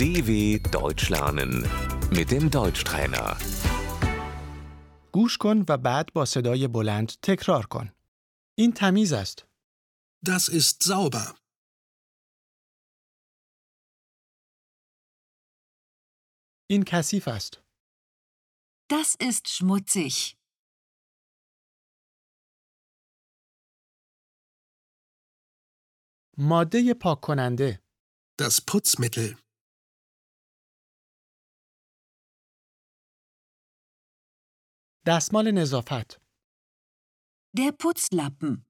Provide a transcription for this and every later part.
DW Deutsch lernen mit dem Deutschtrainer. گوش کن و بعد با صدای بلند تکرار کن. این تمیز است. Das ist sauber. این کثیف است. Das ist schmutzig. ماده پاک کننده. Das Putzmittel. دستمال نظافت. Der Putzlappen.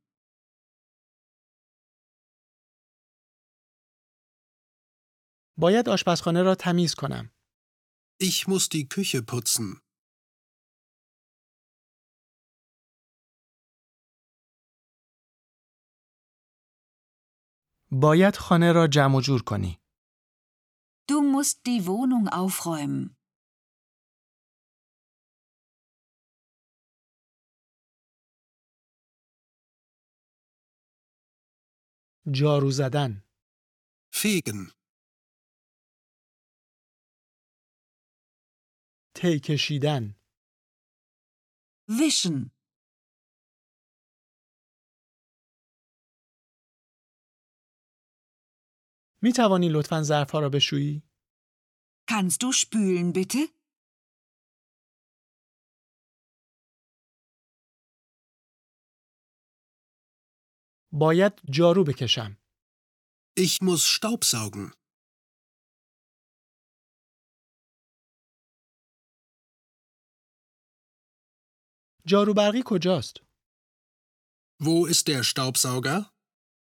باید آشپزخانه را تمیز کنم. Ich muss die Küche putzen. باید خانه را جمع و جور کنی. Du musst die Wohnung aufräumen. جارو زدن. Fegen. تی کشیدن. Wischen. می توانی لطفاً ظرفها را بشویی؟ Kannst du spülen, bitte? باید جارو بکشم. Ich muss Staubsaugen. جارو برقی کجاست؟ Wo ist der Staubsauger?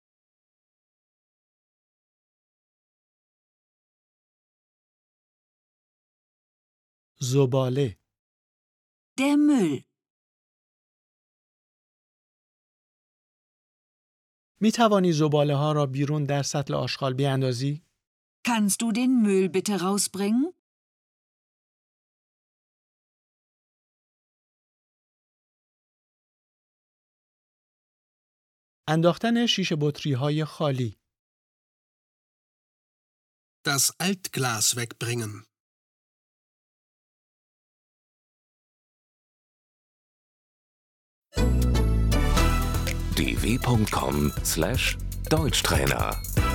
زباله. Der Müll. می توانی زباله ها را بیرون در سطل آشغال بیاندازی؟ Kannst du den Müll bitte rausbringen? انداختن شیشه بطری های خالی. Das Altglas wegbringen. dw.com/Deutschtrainer